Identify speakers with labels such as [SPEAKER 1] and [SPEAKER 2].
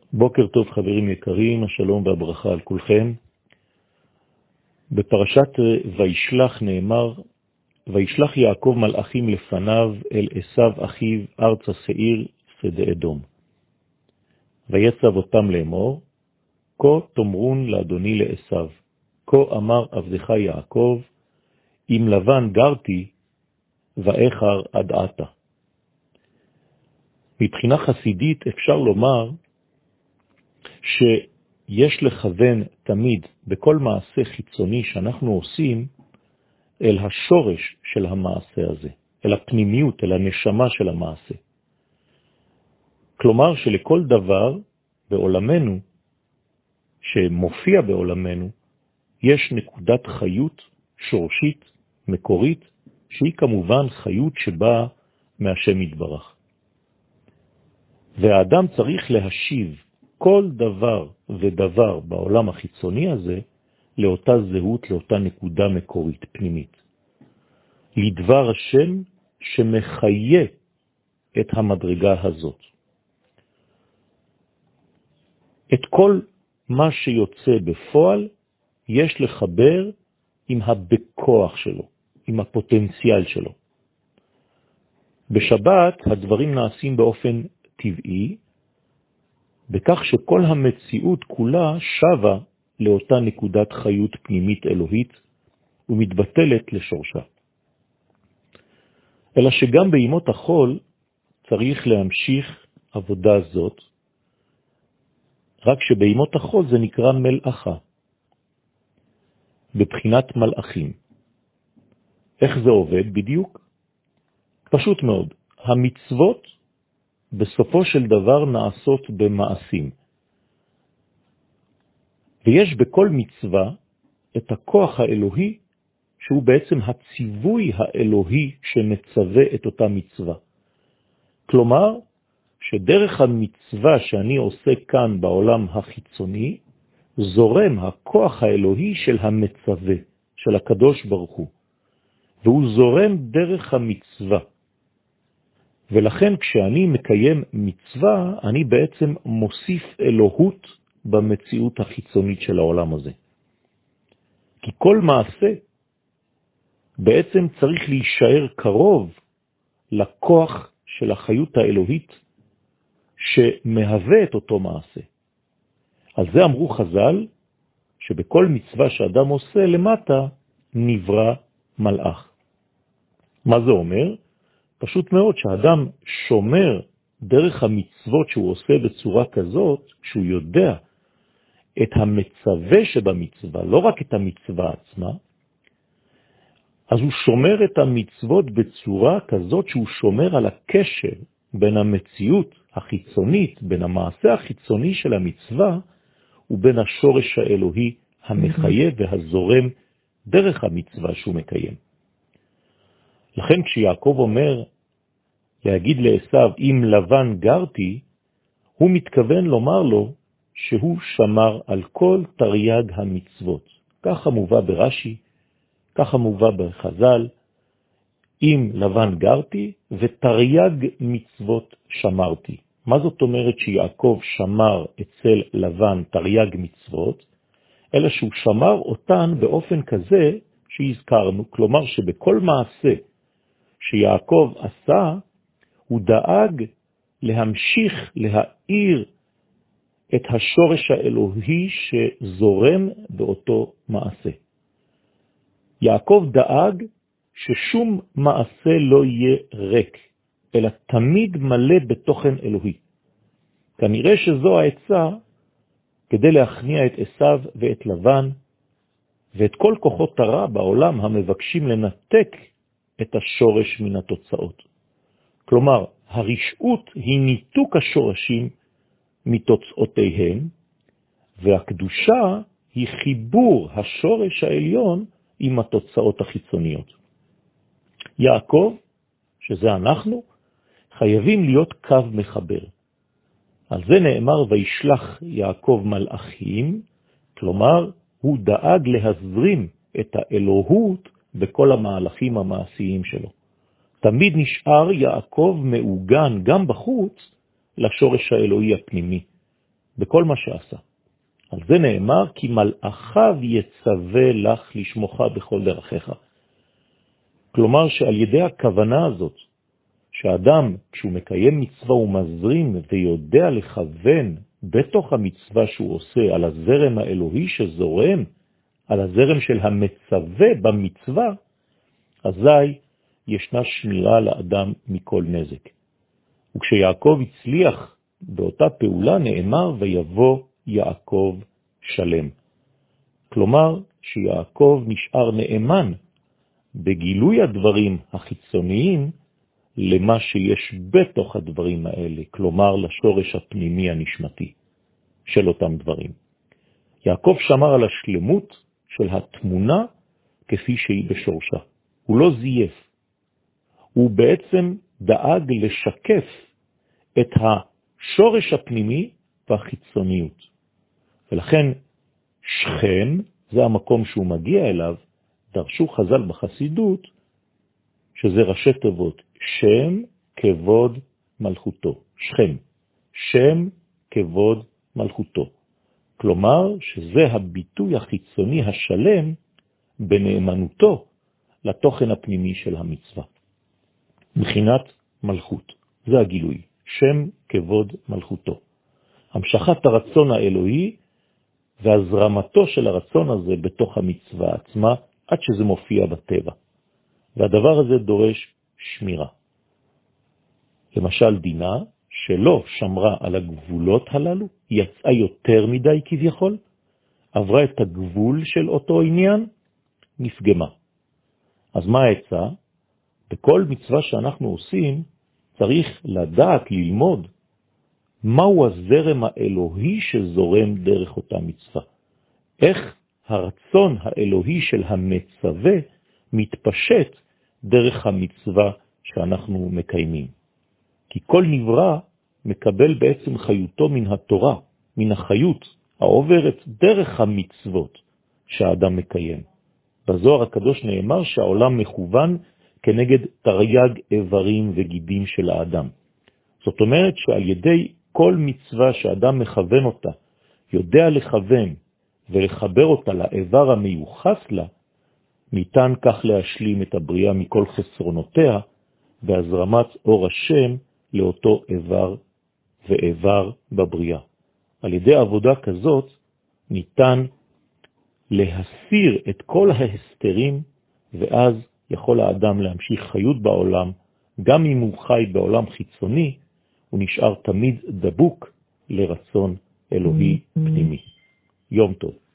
[SPEAKER 1] בוקר טוב חברים יקרים, השלום והברכה על כולכם. בפרשת וישלח נאמר, וישלח יעקב מלאכים לפניו אל עשיו אחיו ארץ השעיר שדה אדום. ויצב אותם לאמור, כה תאמרון לאדוני לעשיו, כה אמר עבדך יעקב, אם לבן גרתי ואיחר עד עתה. מבחינה חסידית אפשר לומר שיש לכוון תמיד בכל מעשה חיצוני שאנחנו עושים אל השורש של המעשה הזה, אל הפנימיות, אל הנשמה של המעשה. כלומר שלכל דבר בעולמנו, שמופיע בעולמנו, יש נקודת חיות שורשית, מקורית, שהיא כמובן חיות שבאה מהשם יתברך. והאדם צריך להשיב כל דבר ודבר בעולם החיצוני הזה לאותה זהות, לאותה נקודה מקורית, פנימית. לדבר השם שמחיה את המדרגה הזאת. את כל מה שיוצא בפועל יש לחבר עם הבכוח שלו, עם הפוטנציאל שלו. בשבת הדברים נעשים באופן טבעי, בכך שכל המציאות כולה שווה לאותה נקודת חיות פנימית אלוהית ומתבטלת לשורשה. אלא שגם בימות החול צריך להמשיך עבודה זאת, רק שבימות החול זה נקרא מלאכה, בבחינת מלאכים. איך זה עובד בדיוק? פשוט מאוד. המצוות בסופו של דבר נעשות במעשים. ויש בכל מצווה את הכוח האלוהי, שהוא בעצם הציווי האלוהי שמצווה את אותה מצווה. כלומר, שדרך המצווה שאני עושה כאן בעולם החיצוני, זורם הכוח האלוהי של המצווה, של הקדוש ברוך הוא. והוא זורם דרך המצווה. ולכן כשאני מקיים מצווה, אני בעצם מוסיף אלוהות במציאות החיצונית של העולם הזה. כי כל מעשה בעצם צריך להישאר קרוב לכוח של החיות האלוהית שמהווה את אותו מעשה. על זה אמרו חז"ל שבכל מצווה שאדם עושה למטה נברא מלאך. מה זה אומר? פשוט מאוד שהאדם שומר דרך המצוות שהוא עושה בצורה כזאת, שהוא יודע את המצווה שבמצווה, לא רק את המצווה עצמה, אז הוא שומר את המצוות בצורה כזאת שהוא שומר על הקשר בין המציאות החיצונית, בין המעשה החיצוני של המצווה, ובין השורש האלוהי המחיה והזורם דרך המצווה שהוא מקיים. לכן כשיעקב אומר להגיד לעשיו, אם לבן גרתי, הוא מתכוון לומר לו שהוא שמר על כל תרי"ג המצוות. ככה מובא ברש"י, ככה מובא בחז"ל, אם לבן גרתי ותרי"ג מצוות שמרתי. מה זאת אומרת שיעקב שמר אצל לבן תרי"ג מצוות? אלא שהוא שמר אותן באופן כזה שהזכרנו, כלומר שבכל מעשה שיעקב עשה, הוא דאג להמשיך להאיר את השורש האלוהי שזורם באותו מעשה. יעקב דאג ששום מעשה לא יהיה ריק, אלא תמיד מלא בתוכן אלוהי. כנראה שזו העצה כדי להכניע את עשיו ואת לבן, ואת כל כוחות הרע בעולם המבקשים לנתק את השורש מן התוצאות. כלומר, הרשעות היא ניתוק השורשים מתוצאותיהם, והקדושה היא חיבור השורש העליון עם התוצאות החיצוניות. יעקב, שזה אנחנו, חייבים להיות קו מחבר. על זה נאמר וישלח יעקב מלאכים, כלומר הוא דאג להזרים את האלוהות בכל המהלכים המעשיים שלו. תמיד נשאר יעקב מעוגן גם בחוץ לשורש האלוהי הפנימי, בכל מה שעשה. על זה נאמר, כי מלאכיו יצווה לך לשמוך בכל דרכיך. כלומר שעל ידי הכוונה הזאת, שהאדם כשהוא מקיים מצווה הוא מזרים ויודע לכוון בתוך המצווה שהוא עושה על הזרם האלוהי שזורם, על הזרם של המצווה במצווה, אזי ישנה שמירה לאדם מכל נזק. וכשיעקב הצליח באותה פעולה נאמר ויבוא יעקב שלם. כלומר שיעקב נשאר נאמן בגילוי הדברים החיצוניים למה שיש בתוך הדברים האלה, כלומר לשורש הפנימי הנשמתי של אותם דברים. יעקב שמר על השלמות של התמונה כפי שהיא בשורשה. הוא לא זייף. הוא בעצם דאג לשקף את השורש הפנימי והחיצוניות. ולכן שכם, זה המקום שהוא מגיע אליו, דרשו חז"ל בחסידות, שזה ראשי תיבות, שם כבוד מלכותו. שכם, שם כבוד מלכותו. כלומר שזה הביטוי החיצוני השלם בנאמנותו לתוכן הפנימי של המצווה. מבחינת מלכות, זה הגילוי, שם כבוד מלכותו. המשכת הרצון האלוהי והזרמתו של הרצון הזה בתוך המצווה עצמה עד שזה מופיע בטבע. והדבר הזה דורש שמירה. למשל דינה שלא שמרה על הגבולות הללו, יצאה יותר מדי כביכול, עברה את הגבול של אותו עניין, נפגמה. אז מה העצה? בכל מצווה שאנחנו עושים צריך לדעת, ללמוד, מהו הזרם האלוהי שזורם דרך אותה מצווה. איך הרצון האלוהי של המצווה מתפשט דרך המצווה שאנחנו מקיימים. כי כל נברא מקבל בעצם חיותו מן התורה, מן החיות העוברת דרך המצוות שהאדם מקיים. בזוהר הקדוש נאמר שהעולם מכוון כנגד תרי"ג איברים וגידים של האדם. זאת אומרת שעל ידי כל מצווה שאדם מכוון אותה, יודע לכוון ולחבר אותה לאיבר המיוחס לה, ניתן כך להשלים את הבריאה מכל חסרונותיה, בהזרמת אור השם לאותו איבר ואיבר בבריאה. על ידי עבודה כזאת ניתן להסיר את כל ההסתרים, ואז יכול האדם להמשיך חיות בעולם, גם אם הוא חי בעולם חיצוני, הוא נשאר תמיד דבוק לרצון אלוהי פנימי. יום טוב.